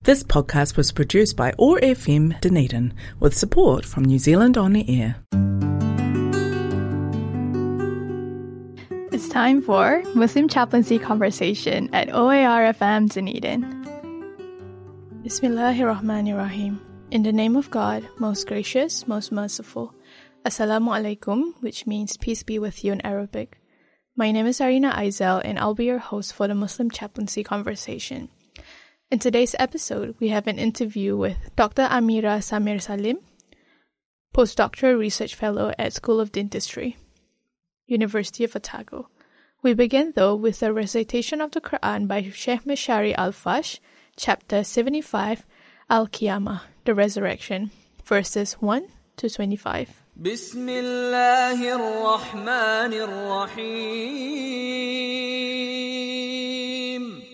This podcast was produced by OAR FM Dunedin with support from New Zealand On Air. It's time for Muslim Chaplaincy Conversation at OAR FM Dunedin. Bismillahirrahmanirrahim. In the name of God, most gracious, most merciful. Assalamu alaikum, which means peace be with you in Arabic. My name is Arina Aizel, and I'll be your host for the Muslim Chaplaincy Conversation. In today's episode, we have an interview with Dr. Amira Samir Salim, postdoctoral research fellow at School of Dentistry, University of Otago. We begin, though, with a recitation of the Quran by Sheikh Mishari Al-Fash, chapter 75, Al-Qiyamah, the Resurrection, verses 1 to 25. Bismillahir Rahmanir Rahim.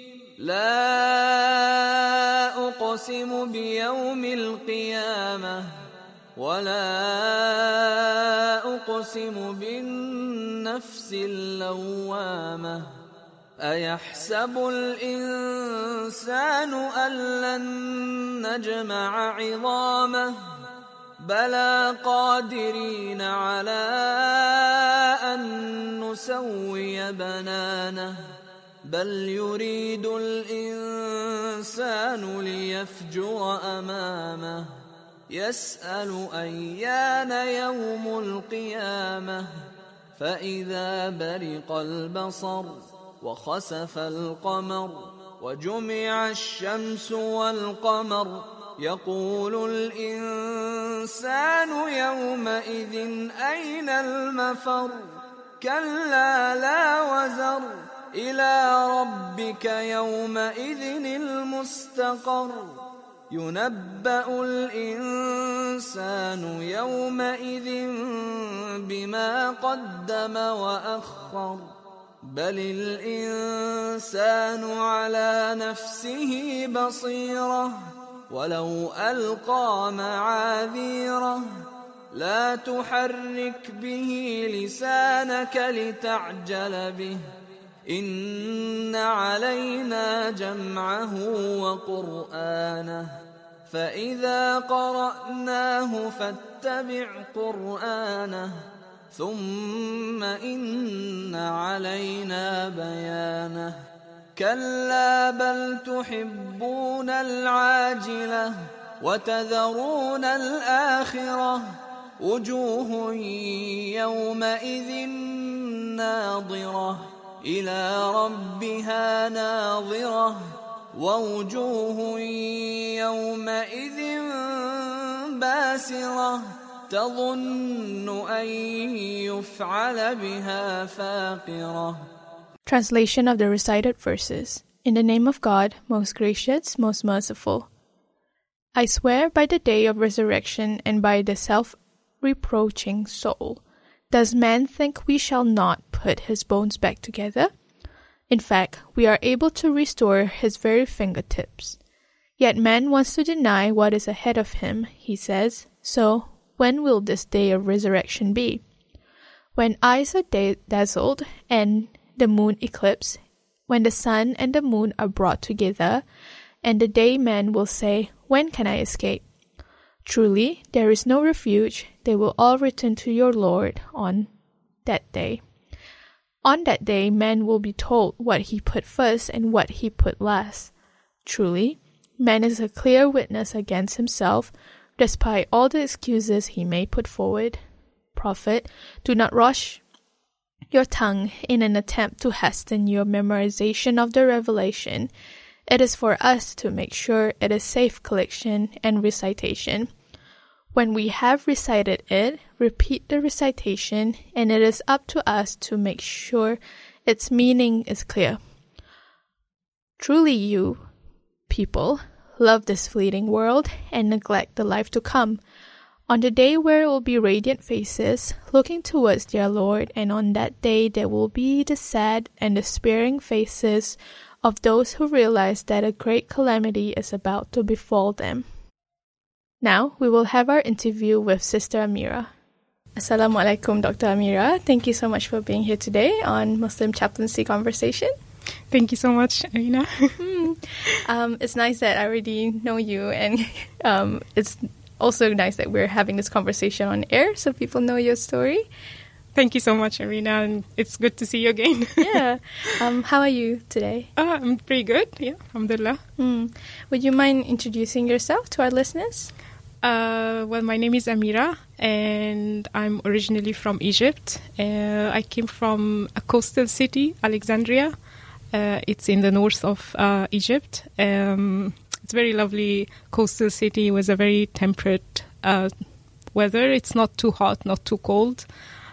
لا أقسم بيوم القيامة ولا أقسم بالنفس اللوامة أيحسب الإنسان أن لن نجمع عظامه بلى قادرين على أن نسوي بنانه بل يريد الإنسان ليفجر أمامه يسأل أيان يوم القيامة فإذا برق البصر وخسف القمر وجمع الشمس والقمر يقول الإنسان يومئذ أين المفر كلا لا وزر إلى ربك يومئذ المستقر ينبأ الإنسان يومئذ بما قدم وأخر بل الإنسان على نفسه بصيرة ولو ألقى معاذيره لا تحرك به لسانك لتعجل به إن علينا جمعه وقرآنه فإذا قرأناه فاتبع قرآنه ثم إن علينا بيانه كلا بل تحبون العاجلة وتذرون الآخرة وجوه يومئذ ناظرة إلى ربها ناظرة ووجوه يومئذ باسرة تظن أن يفعل بها فاقرة. Translation of the recited verses. In the name of God, most gracious, most merciful. I swear by the day of resurrection and by the self-reproaching soul. Does man think we shall not put his bones back together? In fact, we are able to restore his very fingertips. Yet man wants to deny what is ahead of him, he says. So, when will this day of resurrection be? When eyes are dazzled and the moon eclipsed, when the sun and the moon are brought together, and the day man will say, when can I escape? Truly, there is no refuge. They will all return to your Lord on that day. On that day, man will be told what he put first and what he put last. Truly, man is a clear witness against himself, despite all the excuses he may put forward. Prophet, do not rush your tongue in an attempt to hasten your memorization of the revelation. It is for us to make sure it is safe collection and recitation. When we have recited it, repeat the recitation, and it is up to us to make sure its meaning is clear. Truly you, people, love this fleeting world and neglect the life to come. On the day where it will be radiant faces, looking towards their Lord, and on that day there will be the sad and despairing faces of those who realize that a great calamity is about to befall them. Now, we will have our interview with Sister Amira. Assalamu alaikum, Dr. Amira. Thank you so much for being here today on Muslim Chaplaincy Conversation. Thank you so much, Arina. It's nice that I already know you, and it's also nice that we're having this conversation on air so people know your story. Thank you so much, Arina, and it's good to see you again. Yeah. How are you today? I'm pretty good, yeah, alhamdulillah. Would you mind introducing yourself to our listeners? Well, my name is Amira, and I'm originally from Egypt. I came from a coastal city, Alexandria. It's in the north of Egypt. It's a very lovely coastal city with a very temperate weather. It's not too hot, not too cold.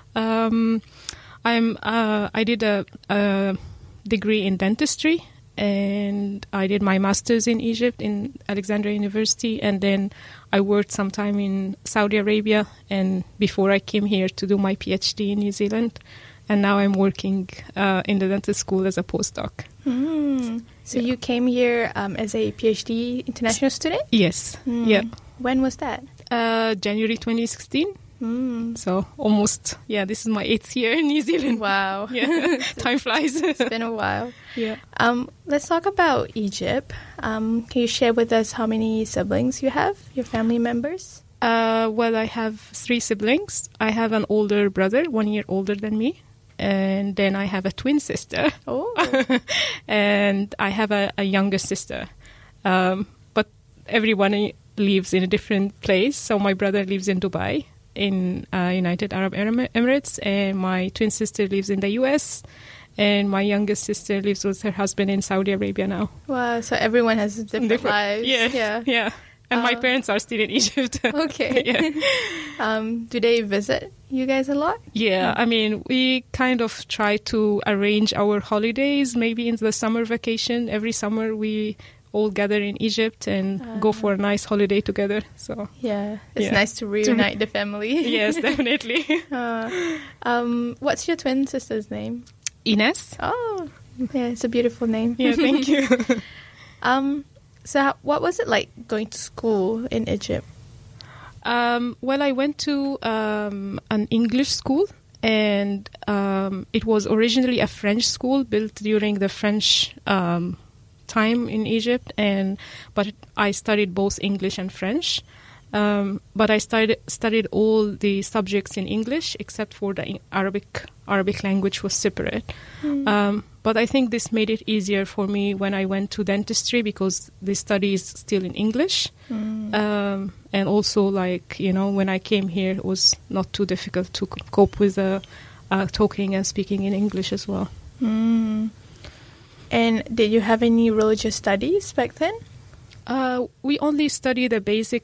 I did a degree in dentistry, and I did my master's in Egypt in Alexandria University, and then I worked some time in Saudi Arabia, and before I came here to do my PhD in New Zealand, and now I'm working in the dental school as a postdoc. So you came here as a PhD international student? Yes, yeah. When was that? January 2016. So almost, this is my 8th year in New Zealand. Wow. Yeah, time flies. It's been a while. Yeah. Let's talk about Egypt. Can you share with us how many siblings you have, your family members? Well, I have 3 siblings. I have an older brother, 1 year older than me. And then I have a twin sister. Oh. And I have a younger sister. But everyone lives in a different place. So my brother lives in Dubai, in United Arab Emirates, and my twin sister lives in the US, and my youngest sister lives with her husband in Saudi Arabia now. Wow, so everyone has different lives. Yeah. And my parents are still in Egypt. Okay. Yeah. Do they visit you guys a lot? Yeah, I mean, we kind of try to arrange our holidays, maybe in the summer vacation. Every summer we all gather in Egypt and go for a nice holiday together. So it's nice to reunite the family. Yes, definitely. What's your twin sister's name? Ines. Oh, yeah, it's a beautiful name. Yeah, thank you. So what was it like going to school in Egypt? Well, I went to an English school, and it was originally a French school built during the French time in Egypt, but I studied both English and French. But I studied all the subjects in English except for the Arabic language was separate. But I think this made it easier for me when I went to dentistry because the study is still in English. And also, when I came here, it was not too difficult to cope with talking and speaking in English as well. And did you have any religious studies back then? We only study the basic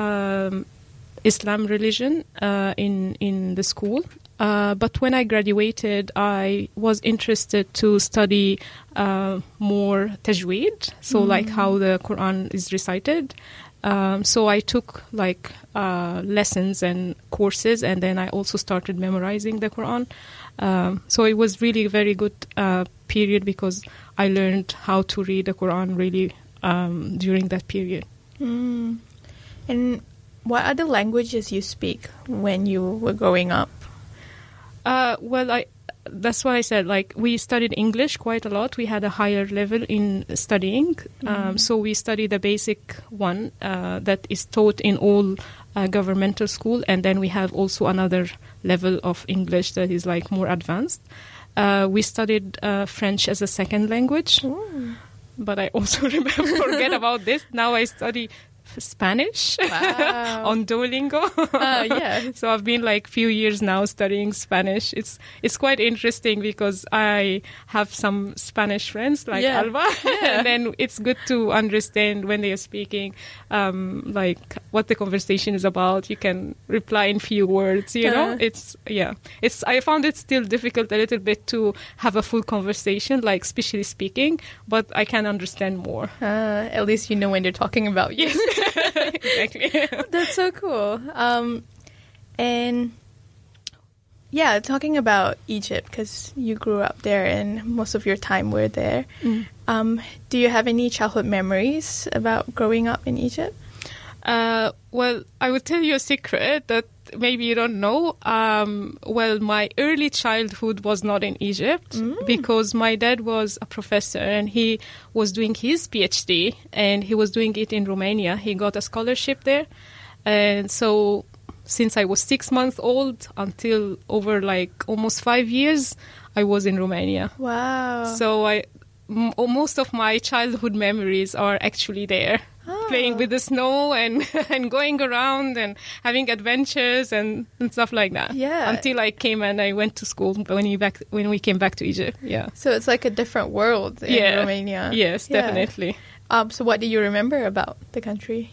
Islam religion in the school. But when I graduated, I was interested to study more tajweed, so like how the Quran is recited. So I took lessons and courses, and then I also started memorizing the Quran. So it was really a very good period because I learned how to read the Quran really during that period. And what other languages you speak when you were growing up? Well, that's what I said. We studied English quite a lot. We had a higher level in studying. So we studied the basic one that is taught in all governmental school. And then we have also another level of English that is more advanced. We studied French as a second language. Ooh. But I also forget about this. Now I study Spanish on Duolingo. So I've been few years now studying Spanish. It's quite interesting because I have some Spanish friends Alba, and then it's good to understand when they are speaking, what the conversation is about. You can reply in few words. You know, I found it still difficult a little bit to have a full conversation, especially speaking, but I can understand more. At least you know when they're talking about you. Exactly. That's so cool. And talking about Egypt, because you grew up there and most of your time were there. Do you have any childhood memories about growing up in Egypt? Well, I would tell you a secret that maybe you don't know. Well, my early childhood was not in Egypt because my dad was a professor and he was doing his PhD and he was doing it in Romania. He got a scholarship there. And so since I was 6 months old until over like almost 5 years, I was in Romania. Wow. So most of my childhood memories are actually there. Playing with the snow and going around and having adventures and stuff like that. Yeah. Until I came and I went to school when we came back to Egypt. Yeah. So it's like a different world in Romania. Yes, definitely. So what do you remember about the country?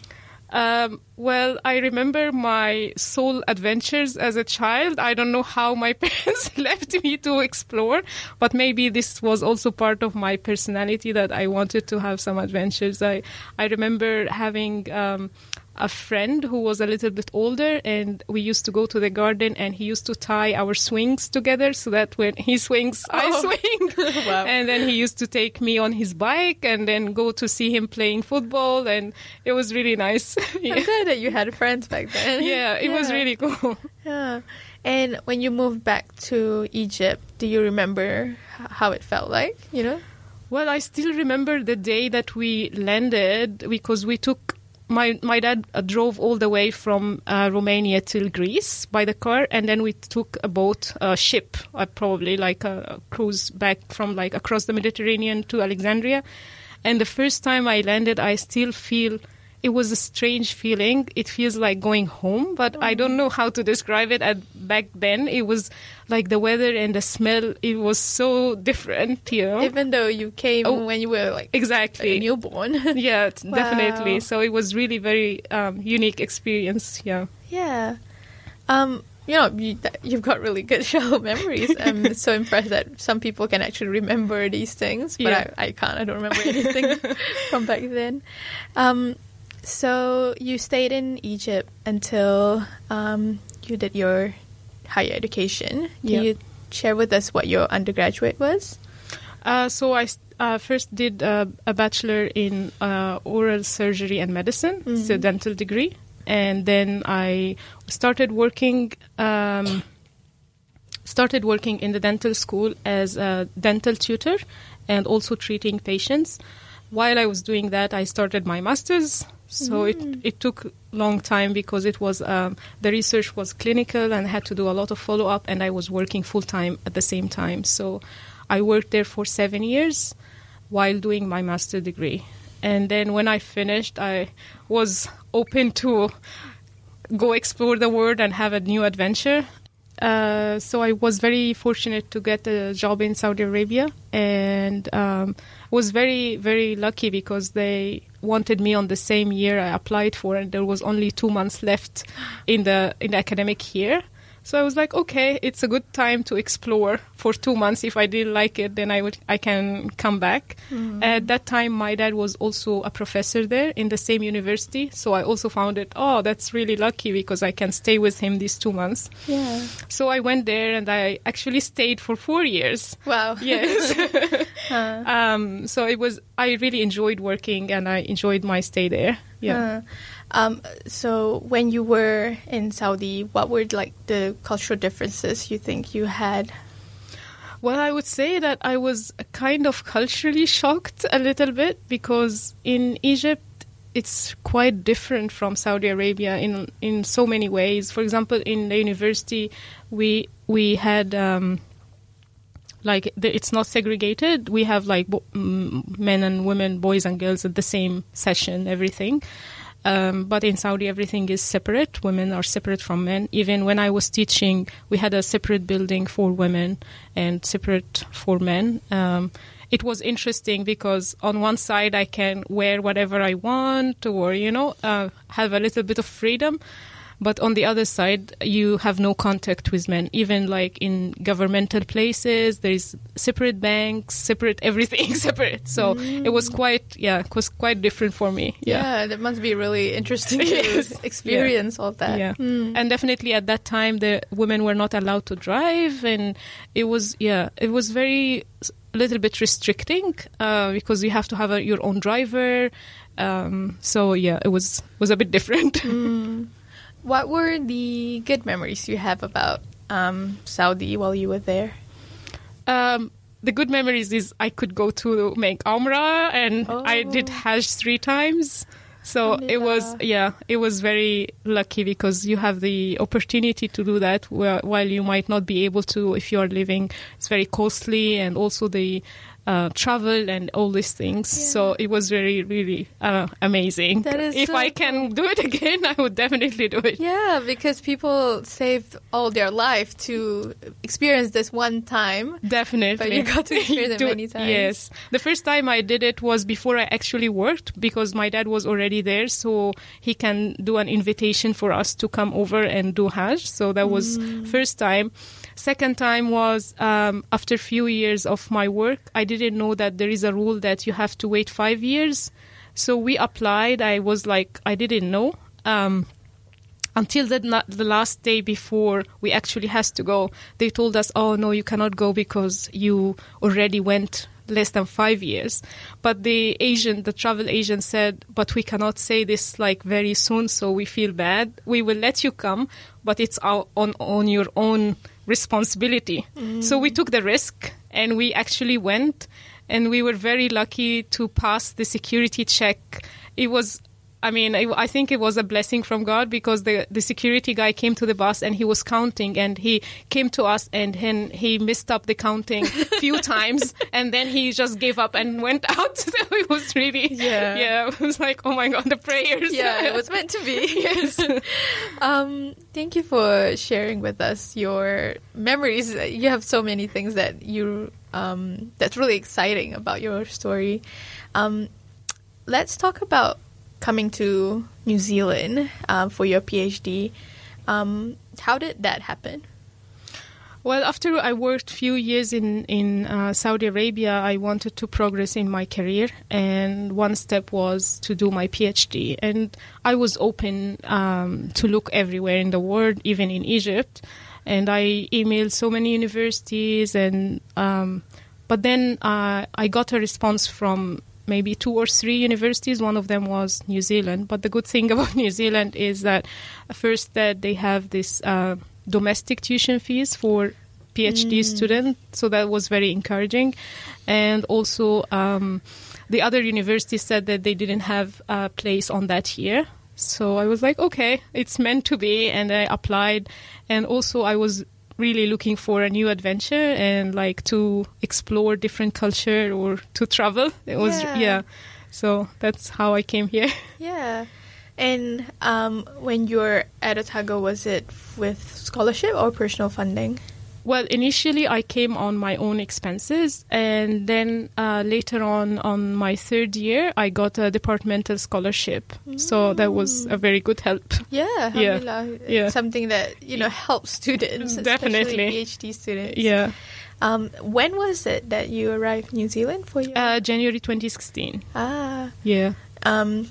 Well, I remember my soul adventures as a child. I don't know how my parents left me to explore, but maybe this was also part of my personality that I wanted to have some adventures. I remember having a friend who was a little bit older, and we used to go to the garden and he used to tie our swings together so that when he swings, I swing. Wow. And then he used to take me on his bike and then go to see him playing football, and it was really nice. Yeah. I'm glad that you had friends back then. Yeah, it was really cool. Yeah. And when you moved back to Egypt, do you remember how it felt like, you know? Well, I still remember the day that we landed because we took... My dad drove all the way from Romania till Greece by the car, and then we took a ship, probably like a cruise back from like across the Mediterranean to Alexandria. And the first time I landed, I still feel it was a strange feeling. It feels like going home, but I don't know how to describe it. Back then, it was like the weather and the smell. It was so different, you know. Even though you came when you were like exactly a newborn. Yeah, Wow. definitely. So it was really very unique experience. Yeah. Yeah. You know, you've got really good childhood memories. I'm so impressed that some people can actually remember these things, but I can't. I don't remember anything from back then. So you stayed in Egypt until you did your higher education. Can you share with us what your undergraduate was? So I first did a bachelor in oral surgery and medicine. It's a dental degree. And then I started working in the dental school as a dental tutor and also treating patients. While I was doing that, I started my master's. So it took a long time because it was the research was clinical and I had to do a lot of follow-up, and I was working full-time at the same time. So I worked there for 7 years while doing my master's degree. And then when I finished, I was open to go explore the world and have a new adventure. So I was very fortunate to get a job in Saudi Arabia, and was very, very lucky because they wanted me on the same year I applied for, and there was only 2 months left in the academic year. So I was like, okay, it's a good time to explore for 2 months. If I didn't like it, then I can come back. At that time, my dad was also a professor there in the same university. So I also found it, that's really lucky because I can stay with him these 2 months. Yeah. So I went there and I actually stayed for 4 years. Wow. Yes. So I really enjoyed working and I enjoyed my stay there. Yeah. So when you were in Saudi, what were like the cultural differences you think you had? Well, I would say that I was kind of culturally shocked a little bit because in Egypt, it's quite different from Saudi Arabia in so many ways. For example, in the university, we had it's not segregated. We have like men and women, boys and girls at the same session, everything. But in Saudi, everything is separate. Women are separate from men. Even when I was teaching, we had a separate building for women and separate for men. It was interesting because on one side, I can wear whatever I want or, have a little bit of freedom. But on the other side, you have no contact with men. Even like in governmental places, there's separate banks, separate everything, separate. So it was quite different for me. Yeah, that must be really interesting to experience all that. Yeah. And definitely at that time, the women were not allowed to drive. And it was very a little bit restricting because you have to have your own driver. It was a bit different. what were the good memories you have about Saudi while you were there? The good memories is I could go to make Umrah, and I did Hajj 3 times. So it was very lucky because you have the opportunity to do that while you might not be able to if you are living. It's very costly, and also the travel and all these things. Yeah. So it was very, really amazing. If I can do it again, I would definitely do it. Yeah, because people saved all their life to experience this one time. Definitely. But you got to experience it many times. Yes. The first time I did it was before I actually worked, because my dad was already there, so he can do an invitation for us to come over and do Hajj. So that was first time. Second time was after a few years of my work, I didn't know that there is a rule that you have to wait 5 years. So we applied. I was like, I didn't know. Until the last day before we actually has to go, they told us, oh, no, you cannot go because you already went less than 5 years. But the travel agent said, but we cannot say this like very soon, so we feel bad. We will let you come, but it's on your own responsibility. So we took the risk and we actually went, and we were very lucky to pass the security check. It was, I think it was a blessing from God, because the security guy came to the bus and he was counting, and he came to us and he messed up the counting a few times, and then he just gave up and went out. So it was really, it was like, oh my God, the prayers. Yeah, it was meant to be. Yes. Thank you for sharing with us your memories. You have so many things that that's really exciting about your story. Let's talk about coming to New Zealand for your PhD. How did that happen? Well, after I worked few years in Saudi Arabia, I wanted to progress in my career, and one step was to do my PhD. And I was open to look everywhere in the world, even in Egypt. And I emailed so many universities, and but then I got a response from maybe 2 or 3 universities. One of them was New Zealand. But the good thing about New Zealand is that first that they have this domestic tuition fees for PhD students. So that was very encouraging. And also the other universities said that they didn't have a place on that year. So I was like, okay, it's meant to be. And I applied. And also I was really looking for a new adventure and like to explore different culture or to travel. It was, So that's how I came here. Yeah. And when you were at Otago, was it with scholarship or personal funding? Well, initially I came on my own expenses, and then later on my 3rd year, I got a departmental scholarship. So that was a very good help. Yeah. Something that, helps students, definitely. Especially PhD students. Yeah. When was it that you arrived in New Zealand for your... January 2016. Ah. Yeah. And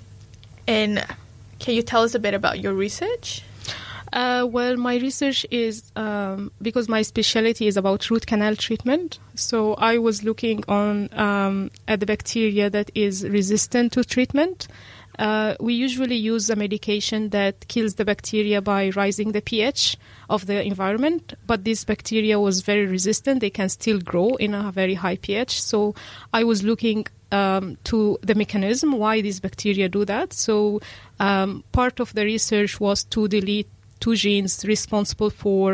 can you tell us a bit about your research? Well, my research is, because my specialty is about root canal treatment, so I was looking on at the bacteria that is resistant to treatment. We usually use a medication that kills the bacteria by raising the pH of the environment, but this bacteria was very resistant. They can still grow in a very high pH. So I was looking to the mechanism why these bacteria do that. So part of the research was to delete 2 genes responsible for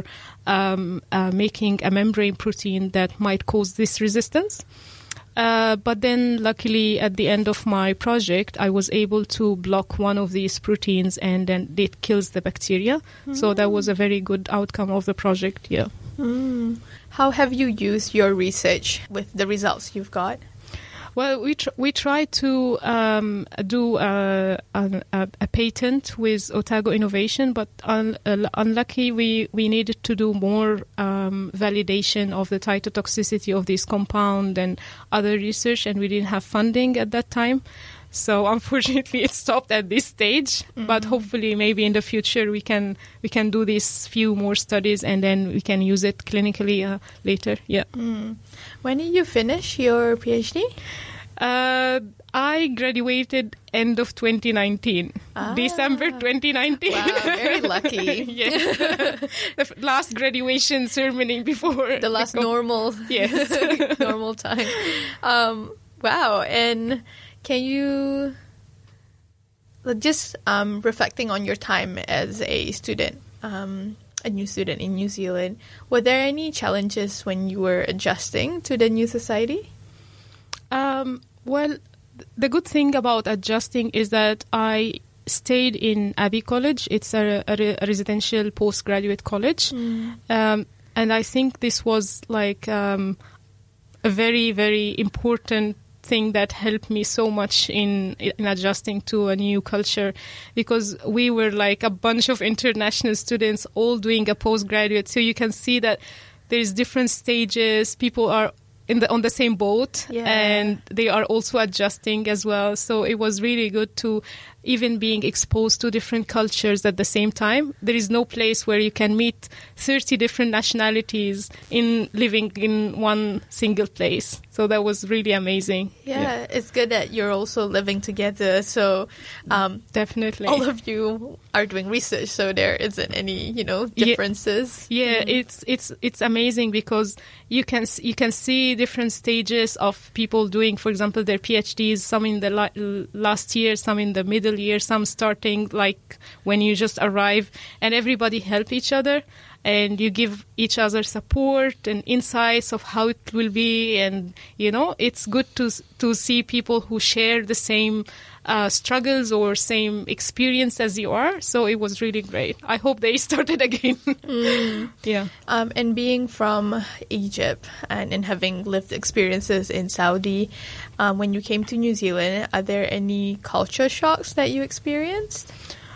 making a membrane protein that might cause this resistance. But then, luckily, at the end of my project, I was able to block one of these proteins, and then it kills the bacteria. So that was a very good outcome of the project, yeah. How have you used your research with the results you've got? Well, we tried to do a patent with Otago Innovation, but unlucky we needed to do more validation of the cytotoxicity of this compound and other research, and we didn't have funding at that time. So unfortunately, it stopped at this stage. But hopefully, maybe in the future, we can do these few more studies, and then we can use it clinically later. Yeah. When did you finish your PhD? I graduated end of 2019, December 2019. Wow, very lucky. Yes. The last graduation ceremony before. The last normal time. Wow. And can you, just reflecting on your time as a student, a new student in New Zealand, were there any challenges when you were adjusting to the new society? Well, the good thing about adjusting is that I stayed in Abbey College. It's a residential postgraduate college. And I think this was like a very, very important thing that helped me so much in adjusting to a new culture, because we were like a bunch of international students all doing a postgraduate. So you can see that there's different stages. People are on the same boat, and they are also adjusting as well. So it was really good to even being exposed to different cultures at the same time. There is no place where you can meet 30 different nationalities in living in one single place. So that was really amazing. Yeah, it's good that you're also living together. So definitely, all of you are doing research, so there isn't any, differences. Yeah, it's amazing because you can see different stages of people doing, for example, their PhDs. Some in the last year, some in the middle year, some starting like when you just arrive, and everybody help each other, and you give each other support and insights of how it will be. And it's good to see people who share the same struggles or same experience as you are. So it was really great. I hope they started again. Yeah. And being from Egypt and having lived experiences in Saudi, when you came to New Zealand, are there any culture shocks that you experienced?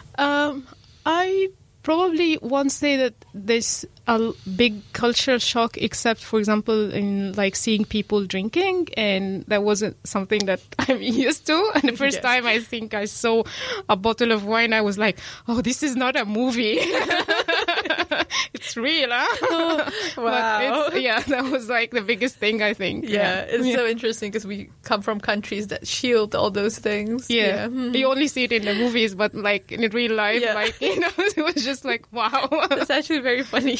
I probably won't say that there's a big cultural shock, except, for example, in like seeing people drinking, and that wasn't something that I'm used to. And the first time I think I saw a bottle of wine, I was like, oh, this is not a movie. It's real, huh? Wow. That was like the biggest thing, I think. Yeah, it's so interesting because we come from countries that shield all those things. Yeah. You only see it in the movies, but like in real life, it was just like, wow. It's actually very funny.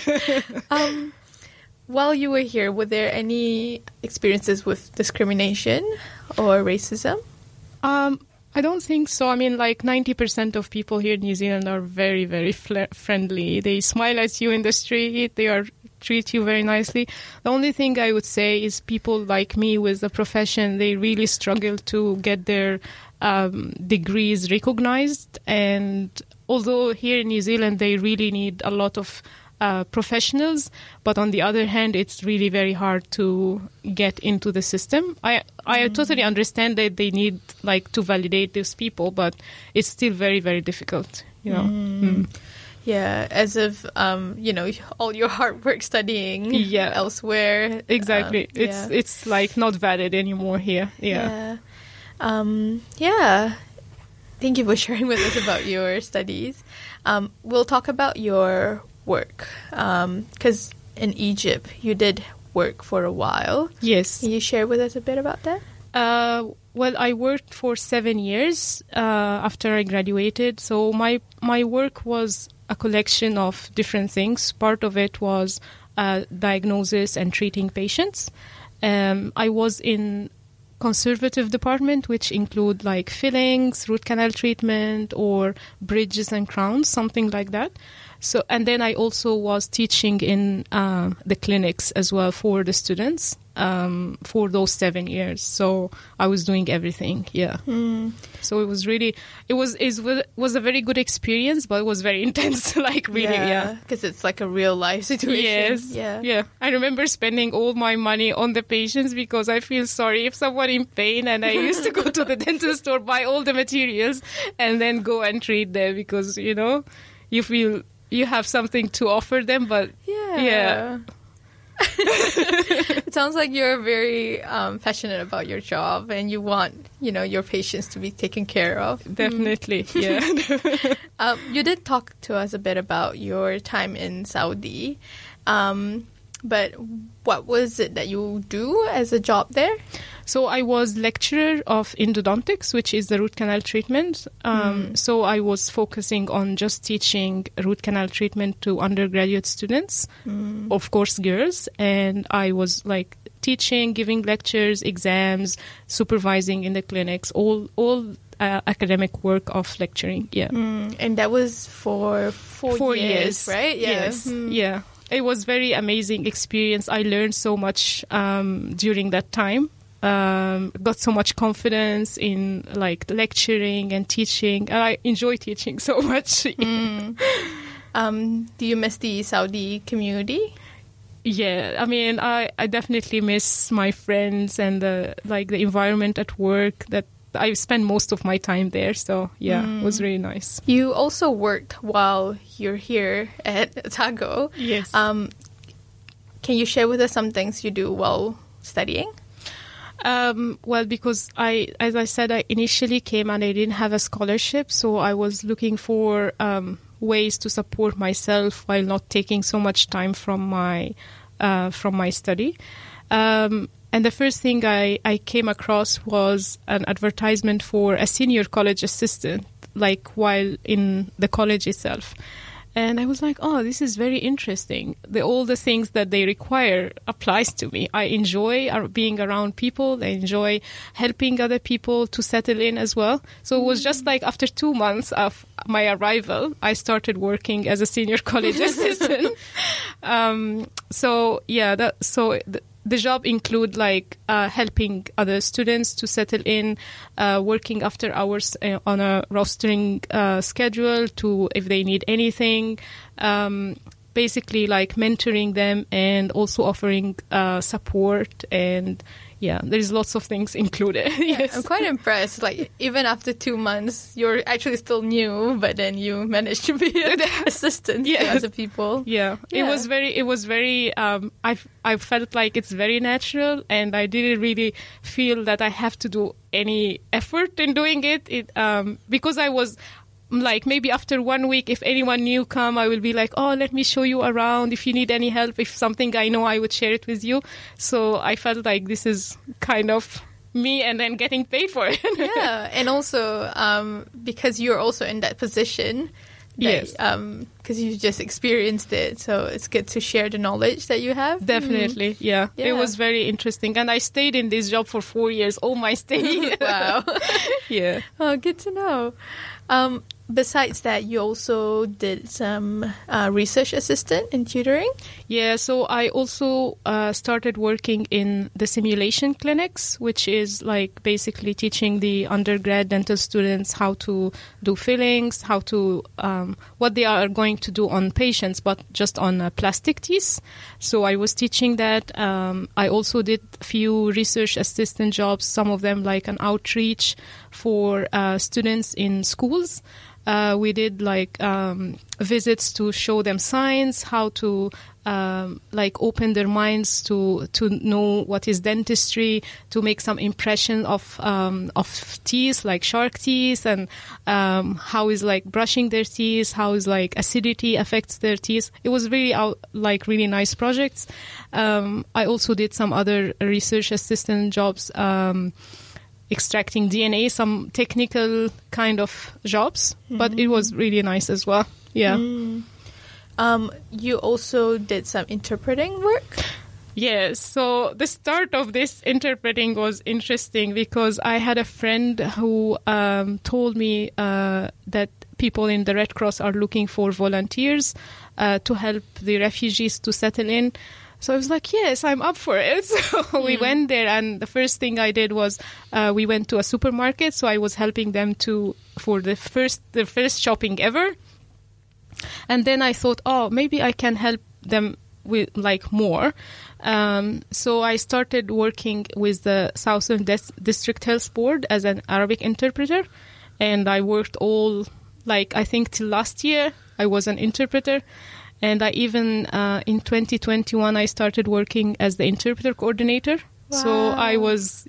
While you were here, were there any experiences with discrimination or racism? I don't think so. I mean, like 90% of people here in New Zealand are very, very friendly. They smile at you in the street. They treat you very nicely. The only thing I would say is people like me with a profession, they really struggle to get their degrees recognized. And although here in New Zealand, they really need a lot of professionals, but on the other hand, it's really very hard to get into the system. I totally understand that they need like to validate these people, but it's still very, very difficult. Yeah, as if all your hard work studying elsewhere. Exactly, it's like not valid anymore here. Yeah. Thank you for sharing with us about your studies. We'll talk about your work, because in Egypt you did work for a while. Yes. Can you share with us a bit about that? Well, I worked for 7 years after I graduated. So my work was a collection of different things. Part of it was diagnosis and treating patients. I was in conservative department, which include like fillings, root canal treatment, or bridges and crowns, something like that. So, and then I also was teaching in the clinics as well for the students for those 7 years. So I was doing everything. Yeah. So it was really, it was a very good experience, but it was very intense. Like really, because it's like a real life situation. Yes. Yeah. I remember spending all my money on the patients because I feel sorry if someone in pain, and I used to go to the dental store, buy all the materials, and then go and treat them because you feel you have something to offer them, but yeah. It sounds like you're very passionate about your job, and you want, your patients to be taken care of. Definitely, yeah. You did talk to us a bit about your time in Saudi. But what was it that you do as a job there? So I was lecturer of endodontics, which is the root canal treatment. So I was focusing on just teaching root canal treatment to undergraduate students, of course, girls. And I was like teaching, giving lectures, exams, supervising in the clinics, all academic work of lecturing. Yeah. And that was for 4 years, right? Yeah. Yes. Yeah. It was very amazing experience. I learned so much during that time. Got so much confidence in like lecturing and teaching, and I enjoy teaching so much. Do you miss the Saudi community? Yeah, I mean, I definitely miss my friends and the environment at work that I spend most of my time there. So yeah, it was really nice. You also worked while you're here at Otago. Yes. Can you share with us some things you do while studying? Well, because as I said, I initially came and I didn't have a scholarship, so I was looking for ways to support myself while not taking so much time from my study. And the first thing I came across was an advertisement for a senior college assistant, like while in the college itself. And I was like, oh, this is very interesting. All the things that they require applies to me. I enjoy being around people. I enjoy helping other people to settle in as well. So it was just like after 2 months of my arrival, I started working as a senior college assistant. The job include like helping other students to settle in, working after hours on a rostering schedule to if they need anything, basically like mentoring them and also offering support. And yeah, there's lots of things included. Yes. I'm quite impressed. Like even after 2 months, you're actually still new, but then you managed to be an assistant to other people. Yeah. It was very. I felt like it's very natural, and I didn't really feel that I have to do any effort in doing it. Because I was. Like maybe after 1 week, if anyone new come, I will be like, oh, let me show you around. If you need any help, if something I know, I would share it with you. So I felt like this is kind of me and then getting paid for it. Yeah. And also because you're also in that position. Yes. Because you just experienced it. So it's good to share the knowledge that you have. Definitely. Yeah. It was very interesting. And I stayed in this job for 4 years. All my stay. Wow. Yeah. Oh, good to know. Besides that, you also did some research assistant in tutoring? Yeah, so I also started working in the simulation clinics, which is like basically teaching the undergrad dental students how to do fillings, how to what they are going to do on patients, but just on plastic teeth. So I was teaching that. I also did a few research assistant jobs, some of them like an outreach for students in schools. We did like visits to show them science, how to like open their minds to know what is dentistry, to make some impression of teeth, like shark teeth, and how is like brushing their teeth, how is like acidity affects their teeth. It was really like really nice projects. I also did some other research assistant jobs. Extracting DNA, some technical kind of jobs, but it was really nice as well. Yeah. You also did some interpreting work? Yes. So the start of this interpreting was interesting because I had a friend who told me that people in the Red Cross are looking for volunteers to help the refugees to settle in. So I was like, yes, I'm up for it. So we went there, and the first thing I did was we went to a supermarket. So I was helping them for the first shopping ever. And then I thought, oh, maybe I can help them with like more. So I started working with the Southern District Health Board as an Arabic interpreter. And I worked I think till last year, I was an interpreter. And I even, in 2021, I started working as the interpreter coordinator. Wow. So I was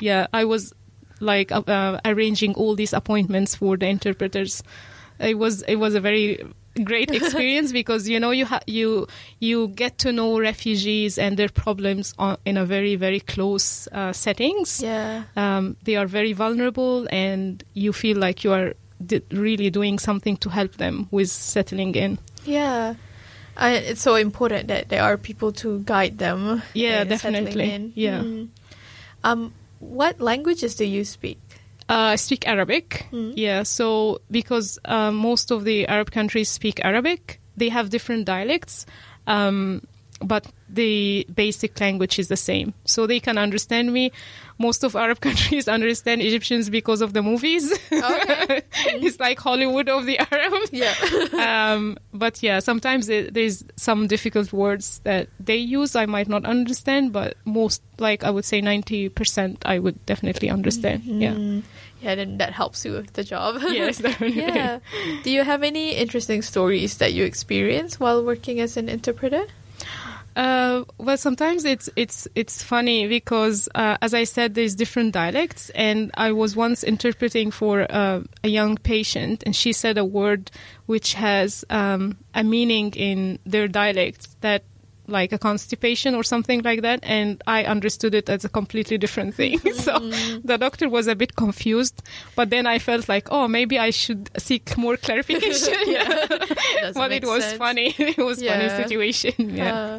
like arranging all these appointments for the interpreters. It was a very great experience because you get to know refugees and their problems in a very, very close settings. Yeah. They are very vulnerable, and you feel like you are really doing something to help them with settling in. Yeah. It's so important that there are people to guide them. Yeah, definitely. In. Yeah. What languages do you speak? I speak Arabic. Yeah, so because most of the Arab countries speak Arabic, they have different dialects, but the basic language is the same. So they can understand me. Most of Arab countries understand Egyptians because of the movies. Okay. It's like Hollywood of the Arabs. Yeah. But yeah, sometimes there's some difficult words that they use I might not understand, but most, like I would say 90%, I would definitely understand. Yeah. Yeah, then that helps you with the job. Yes, definitely. Yeah. Do you have any interesting stories that you experienced while working as an interpreter? Well, sometimes it's funny because, as I said, there's different dialects, and I was once interpreting for a young patient, and she said a word which has a meaning in their dialect that, like a constipation or something like that, and I understood it as a completely different thing. So the doctor was a bit confused, but then I felt like, oh, maybe I should seek more clarification. But it was sense. Funny. It was funny situation. Yeah.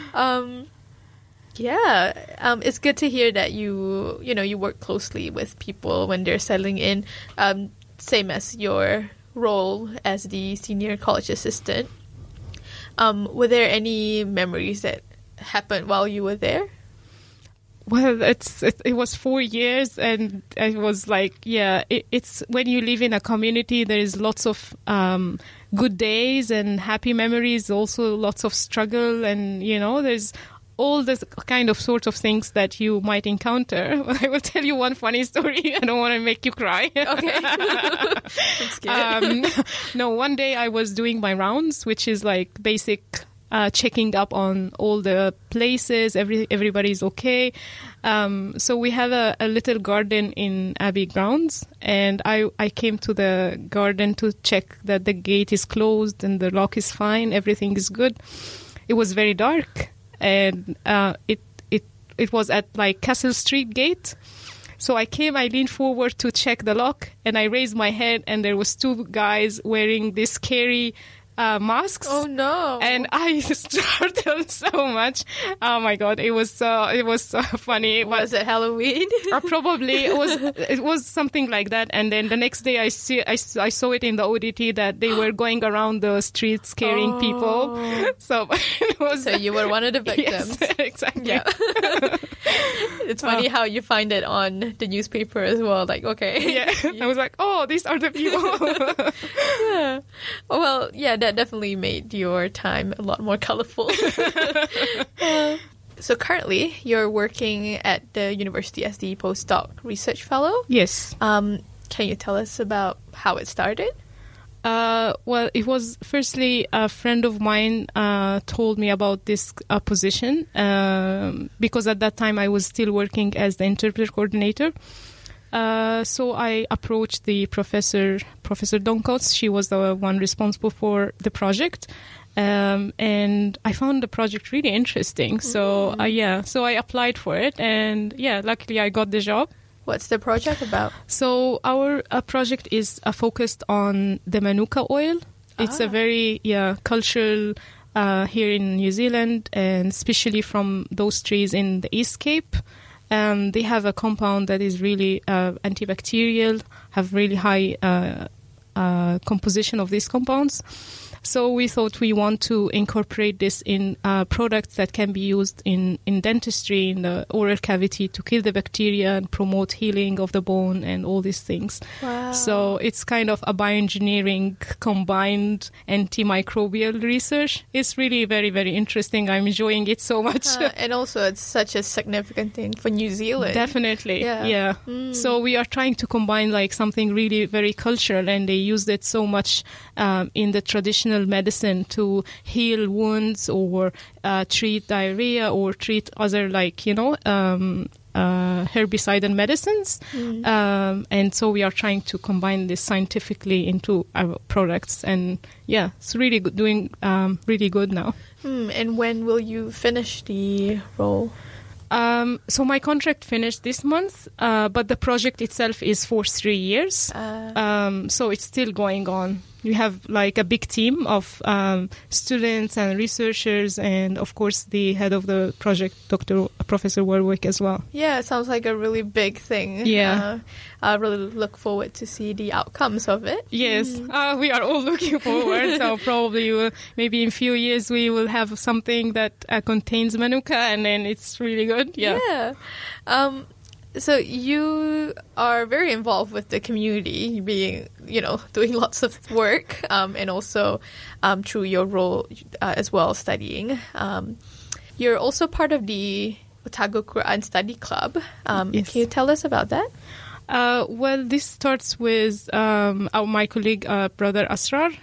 It's good to hear that you work closely with people when they're settling in. Same as your role as the senior college assistant. Were there any memories that happened while you were there? Well, it was 4 years, and it was like, it's when you live in a community, there is lots of good days and happy memories, also lots of struggle, and there's all this kind of sort of things that you might encounter. I will tell you one funny story. I don't want to make you cry. Okay. I'm scared. No, one day I was doing my rounds, which is like basic checking up on all the places, everybody's okay. So we have a little garden in Abbey grounds, and I came to the garden to check that the gate is closed and the lock is fine, everything is good. It was very dark, and it was at like Castle Street gate. So I leaned forward to check the lock, and I raised my head, and there was two guys wearing this scary masks. Oh no! And I startled so much. Oh my god! It was so funny. Was it Halloween? Probably it was something like that. And then the next day I saw it in the ODT that they were going around the streets scaring people. So it was. So you were one of the victims. Yes, exactly. Yeah. It's funny how you find it on the newspaper as well. Like, okay. Yeah. I was like, oh, these are the people. Yeah. Well, yeah, that definitely made your time a lot more colorful. So currently, you're working at the university as the postdoc research fellow. Yes. Can you tell us about how it started? Well, it was firstly a friend of mine told me about this position because at that time I was still working as the interpreter coordinator. So I approached the Professor Donkots. She was the one responsible for the project. And I found the project really interesting. So, so I applied for it. And, luckily I got the job. What's the project about? So our project is focused on the Manuka oil. It's a very cultural here in New Zealand, and especially from those trees in the East Cape. They have a compound that is really antibacterial, have really high composition of these compounds. So we thought we want to incorporate this in products that can be used in dentistry, in the oral cavity, to kill the bacteria and promote healing of the bone and all these things. Wow. So it's kind of a bioengineering combined antimicrobial research. It's really very, very interesting. I'm enjoying it so much. And also it's such a significant thing for New Zealand. Definitely, yeah. So we are trying to combine like something really very cultural, and they used it so much in the traditional medicine to heal wounds or treat diarrhea or treat other herbicide and medicines. And so we are trying to combine this scientifically into our products. And yeah, it's really good, doing really good now. And when will you finish the role? So my contract finished this month, but the project itself is for 3 years. So it's still going on. We have like a big team of students and researchers, and of course the head of the project, Professor Warwick, as well. Yeah, it sounds like a really big thing. Yeah. I really look forward to see the outcomes of it. Yes, we are all looking forward. So probably maybe in a few years we will have something that contains Manuka, and then it's really good. Yeah. So you are very involved with the community, being, doing lots of work, and also through your role as well, studying. You're also part of the Otago Quran Study Club. Yes. Can you tell us about that? Well, this starts with my colleague, Brother Asrar.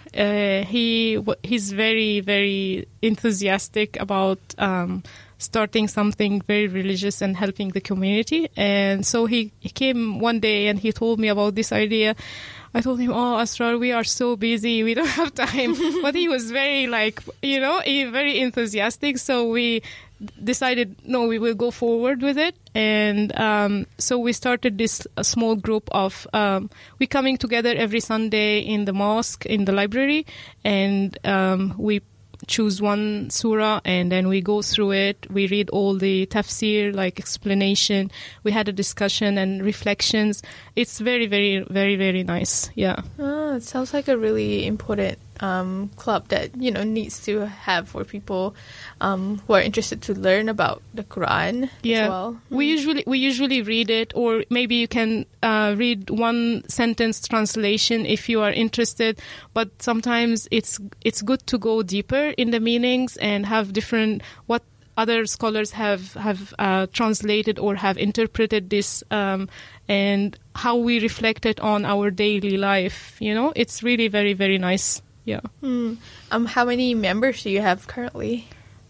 He's very, very enthusiastic about starting something very religious and helping the community. And so he came one day and he told me about this idea. I told him, Asrar, we are so busy, we don't have time. But he was very very enthusiastic. So we decided, no, we will go forward with it. And so we started this small group of, we coming together every Sunday in the mosque, in the library, and we choose one surah and then we go through it. We read all the tafsir, like explanation. We had a discussion and reflections. It's very, very, very, very nice. Yeah. It sounds like a really important club that needs to have for people who are interested to learn about the Quran as well. We usually read it, or maybe you can read one sentence translation if you are interested. But sometimes it's good to go deeper in the meanings and have different what other scholars have translated or have interpreted this, and how we reflect it on our daily life. It's really very, very nice. Yeah. How many members do you have currently?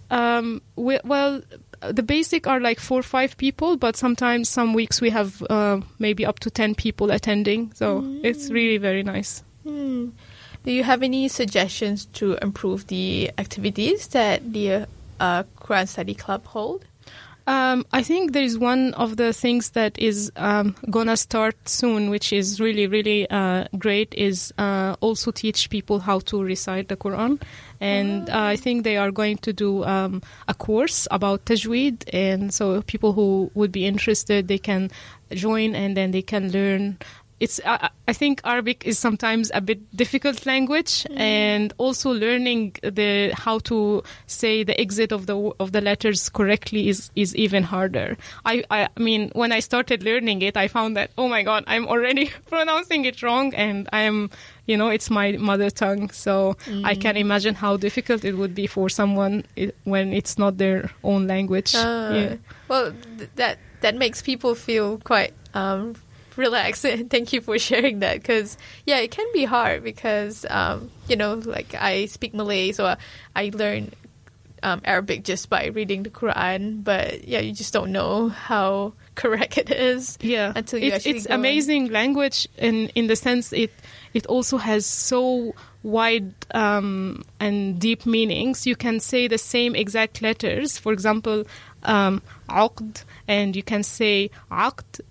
Well, the basic are like 4 or 5 people, but sometimes some weeks we have maybe up to 10 people attending. So it's really very nice. Do you have any suggestions to improve the activities that the Quran Study Club hold? I think there is one of the things that is gonna start soon, which is really, really great, is also teach people how to recite the Quran. And I think they are going to do a course about tajweed. And so people who would be interested, they can join and then they can learn. I think Arabic is sometimes a bit difficult language, and also learning how to say the exit of the letters correctly is even harder. I mean, when I started learning it, I found that, oh my God, I'm already pronouncing it wrong, and I am, it's my mother tongue, so I can imagine how difficult it would be for someone when it's not their own language. Well, that makes people feel quite relax. Thank you for sharing that, because it can be hard because like I speak Malay, so I learn Arabic just by reading the Quran, but you just don't know how correct it is until you actually it's amazing language in the sense it also has so wide and deep meanings. You can say the same exact letters, for example, aqd, and you can say aqd,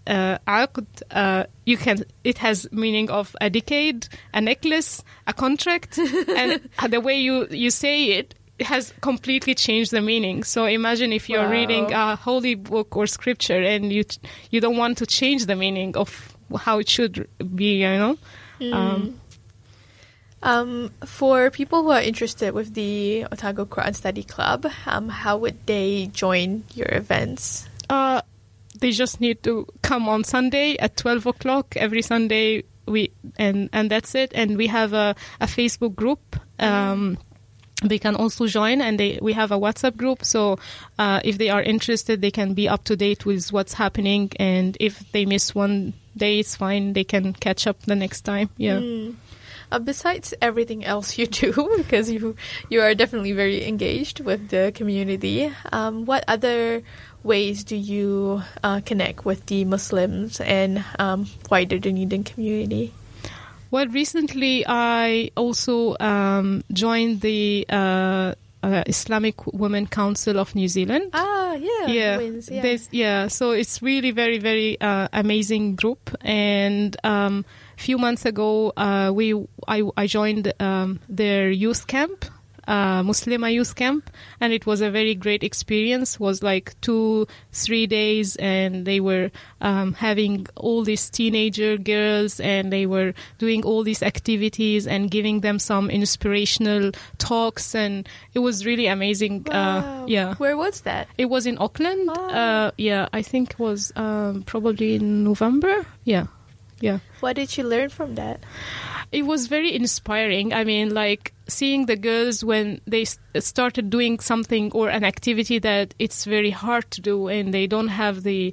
it has meaning of a decade, a necklace, a contract, and the way you say it has completely changed the meaning. So imagine if you're reading a holy book or scripture and you don't want to change the meaning of how it should be, For people who are interested with the Otago Quran Study Club, how would they join your events? They just need to come on Sunday at 12 o'clock every Sunday. And that's it. And we have a Facebook group. They can also join, and we have a WhatsApp group. So if they are interested, they can be up to date with what's happening. And if they miss one day, it's fine. They can catch up the next time. Yeah. Besides everything else you do, because you are definitely very engaged with the community, what other ways do you connect with the Muslims and wider Dunedin community? Well, recently I also joined the Islamic Women Council of New Zealand. So it's really very, very amazing group. And few months ago, I joined their youth camp, Muslima youth camp, and it was a very great experience. It was like 2-3 days, and they were having all these teenager girls, and they were doing all these activities and giving them some inspirational talks, and it was really amazing. Wow. Where was that? It was in Auckland. I think it was probably in November. Yeah. What did you learn from that? It was very inspiring. I mean, like seeing the girls when they started doing something or an activity that it's very hard to do, and they don't have the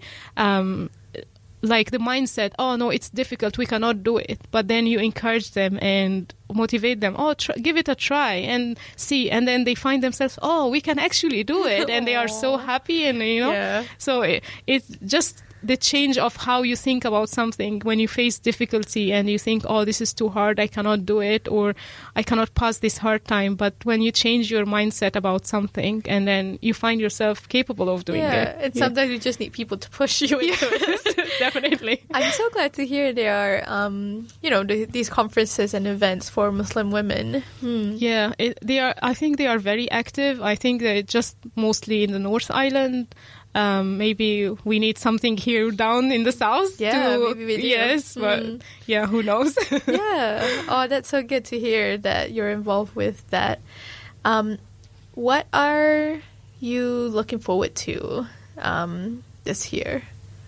the mindset, oh no, it's difficult, we cannot do it. But then you encourage them and motivate them, give it a try and see. And then they find themselves, oh, we can actually do it. And they are so happy, and so it's just the change of how you think about something when you face difficulty and you think, oh, this is too hard, I cannot do it, or I cannot pass this hard time. But when you change your mindset about something, and then you find yourself capable of doing it. And sometimes you just need people to push you into it. Definitely. I'm so glad to hear there are, these conferences and events for Muslim women. Yeah, they are. I think they are very active. I think they're just mostly in the North Island. Maybe we need something here down in the south. Maybe we do. Yes, but who knows? Oh, that's so good to hear that you're involved with that. What are you looking forward to this year?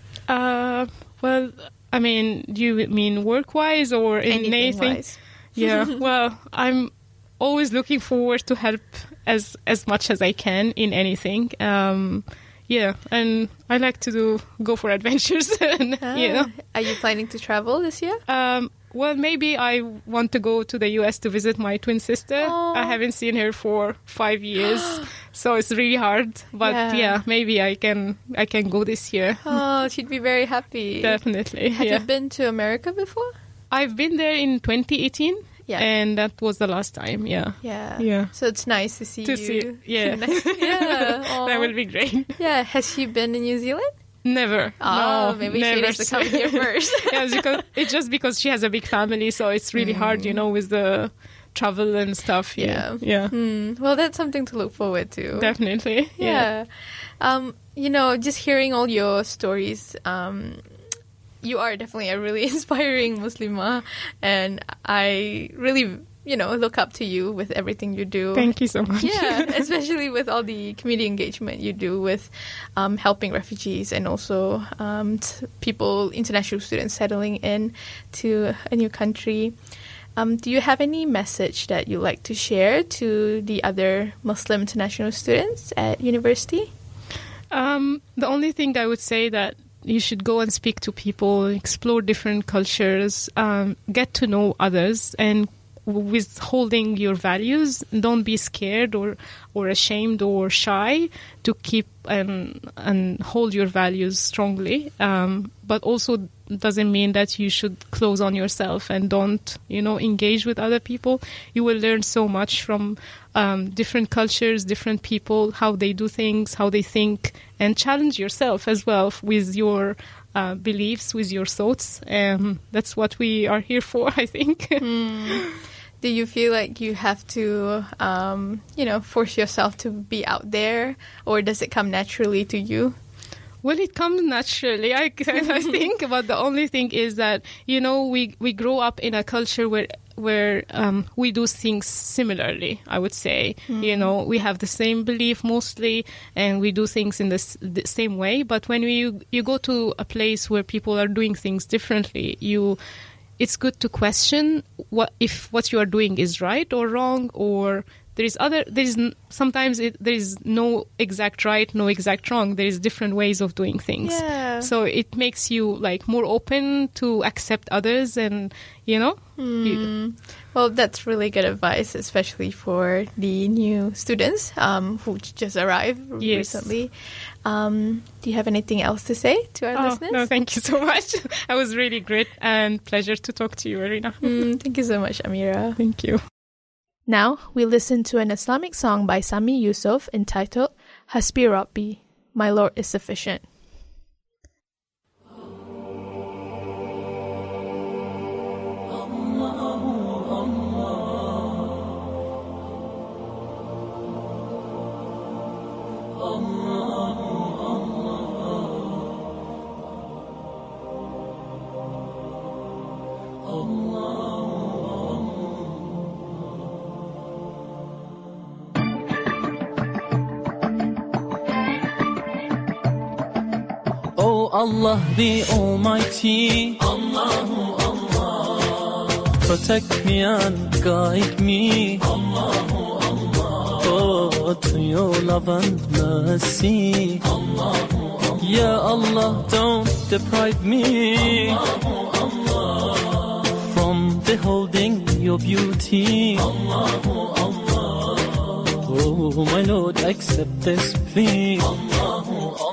Well, I mean, do you mean work-wise or in anything? Yeah, well, I'm always looking forward to help as much as I can in anything. And I like to go for adventures. Are you planning to travel this year? Well, maybe I want to go to the U.S. to visit my twin sister. Aww. I haven't seen her for 5 years, so it's really hard. But maybe I can go this year. Oh, she'd be very happy. Definitely. Have you been to America before? I've been there in 2018. Yeah. And that was the last time, Yeah. So it's nice to see you. That will be great. Yeah. Has she been in New Zealand? Never. Oh, no, maybe she needs to come here first. It's just because she has a big family, so it's really hard, with the travel and stuff. Yeah. Well, that's something to look forward to. Definitely. Yeah. Just hearing all your stories, you are definitely a really inspiring Muslimah, and I really, look up to you with everything you do. Thank you so much. Yeah, especially with all the community engagement you do with helping refugees and also people, international students settling in to a new country. Do you have any message that you'd like to share to the other Muslim international students at university? The only thing I would say that you should go and speak to people, explore different cultures, get to know others, and withholding your values. Don't be scared or ashamed or shy to keep and hold your values strongly. But also doesn't mean that you should close on yourself and don't, engage with other people. You will learn so much from different cultures, different people, how they do things, how they think, and challenge yourself as well with your beliefs, with your thoughts. That's what we are here for, I think. Do you feel like you have to, force yourself to be out there, or does it come naturally to you? Well, it comes naturally, I think. But the only thing is that, we grow up in a culture where we do things similarly, I would say. We have the same belief mostly, and we do things in the same way. But when you go to a place where people are doing things differently, it's good to question if what you are doing is right or wrong, or sometimes there is no exact right, no exact wrong. There is different ways of doing things. Yeah. So it makes you like more open to accept others, and Well, that's really good advice, especially for the new students who just arrived recently. Do you have anything else to say to our listeners? No, thank you so much. It was really great and pleasure to talk to you, Arina. Thank you so much, Amira. Thank you. Now we listen to an Islamic song by Sami Yusuf entitled Hasbi Rabbi, My Lord is Sufficient. Oh Allah the Almighty, Allahu Allah, protect me and guide me, Allahu Allah, oh to your love and mercy, Allahu Allah, Ya Allah don't deprive me, Allahu Allah, from beholding your beauty, Allahu Allah, oh my Lord accept this plea, Allahu Allah.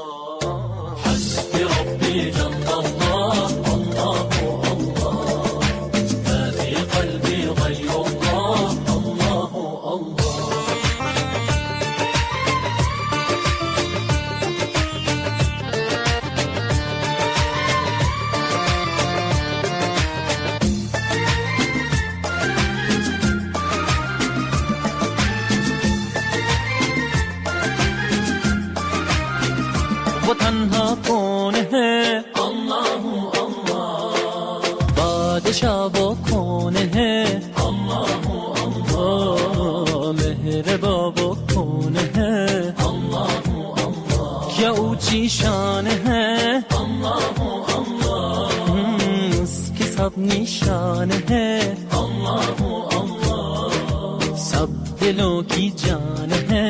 वो तन्हा कौन है अल्लाह अल्लाह बादशाह वो कौन है अल्लाह अल्लाह मेहरबा वो कौन है अल्लाह अल्लाह क्या ऊंची शान है अल्लाह अल्लाह उसकी सब निशान है अल्लाह अल्लाह सब दिलों की जान है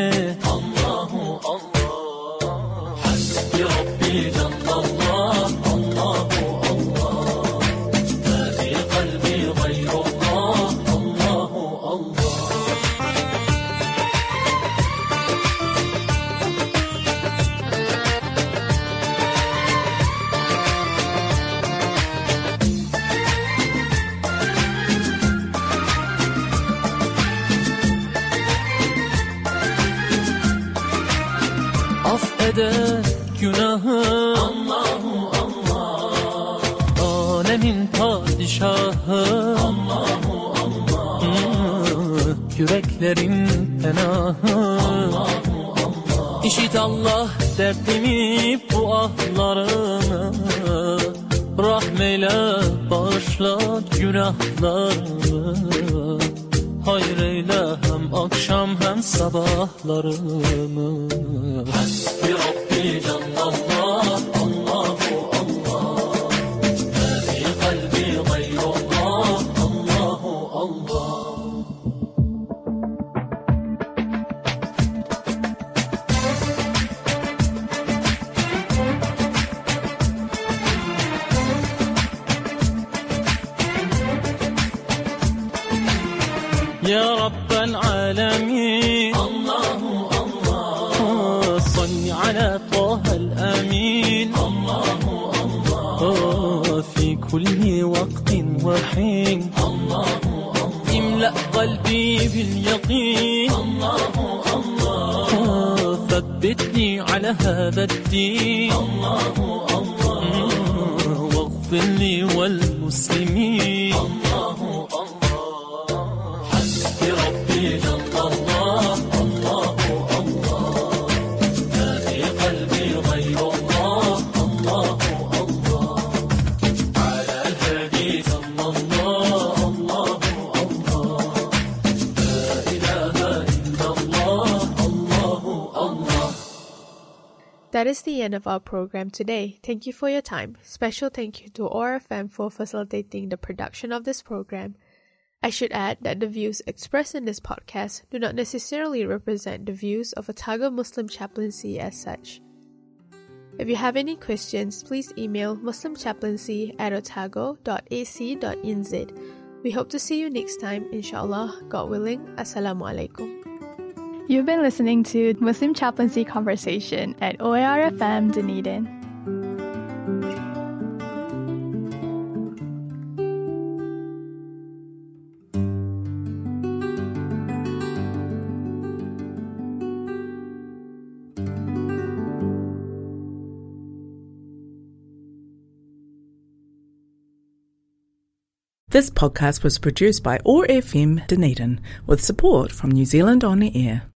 affeder günahı Allahu Allah alemin padişahı Allahu Allah yüreklerin penahı Allahu Allah İşit Allah derdimi bu ahlarımı rahmeyle bağışla günahlarımı hayır eyle hem akşam hem sabahlarımı Hasbi Rabbi Cenlallah Allahu Allah Ma fi kalbi gayrullah Allahu Allah يا رب العالمين الله الله صل على طه الأمين الله الله في كل وقت وحين الله الله املأ قلبي باليقين الله الله ثبتني على هذا الدين الله الله واغفر لي والمسلمين الله That is the end of our program today. Thank you for your time. Special thank you to ORFM for facilitating the production of this program. I should add that the views expressed in this podcast do not necessarily represent the views of Otago Muslim Chaplaincy as such. If you have any questions, please email muslimchaplaincy@otago.ac.nz. We hope to see you next time, inshallah, God willing. Assalamu alaikum. You've been listening to Muslim Chaplaincy Conversation at OAR-FM Dunedin. This podcast was produced by OAR FM Dunedin with support from New Zealand On the Air.